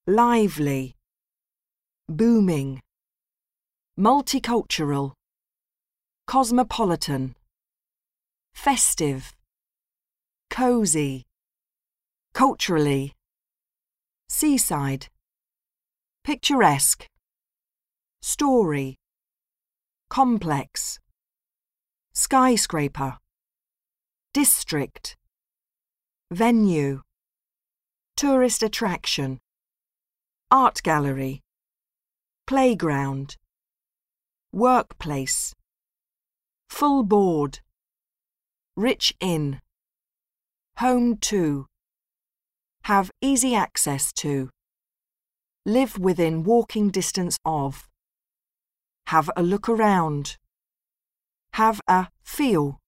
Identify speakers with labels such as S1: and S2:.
S1: lively, booming, multicultural, cosmopolitan, festive, cosy, culturally, seaside, picturesque, story, complex, skyscraper, district, venue, tourist attraction, art gallery, playground, workplace, full board, rich in, home to, have easy access to, live within walking distance of, have a look around, have a feel,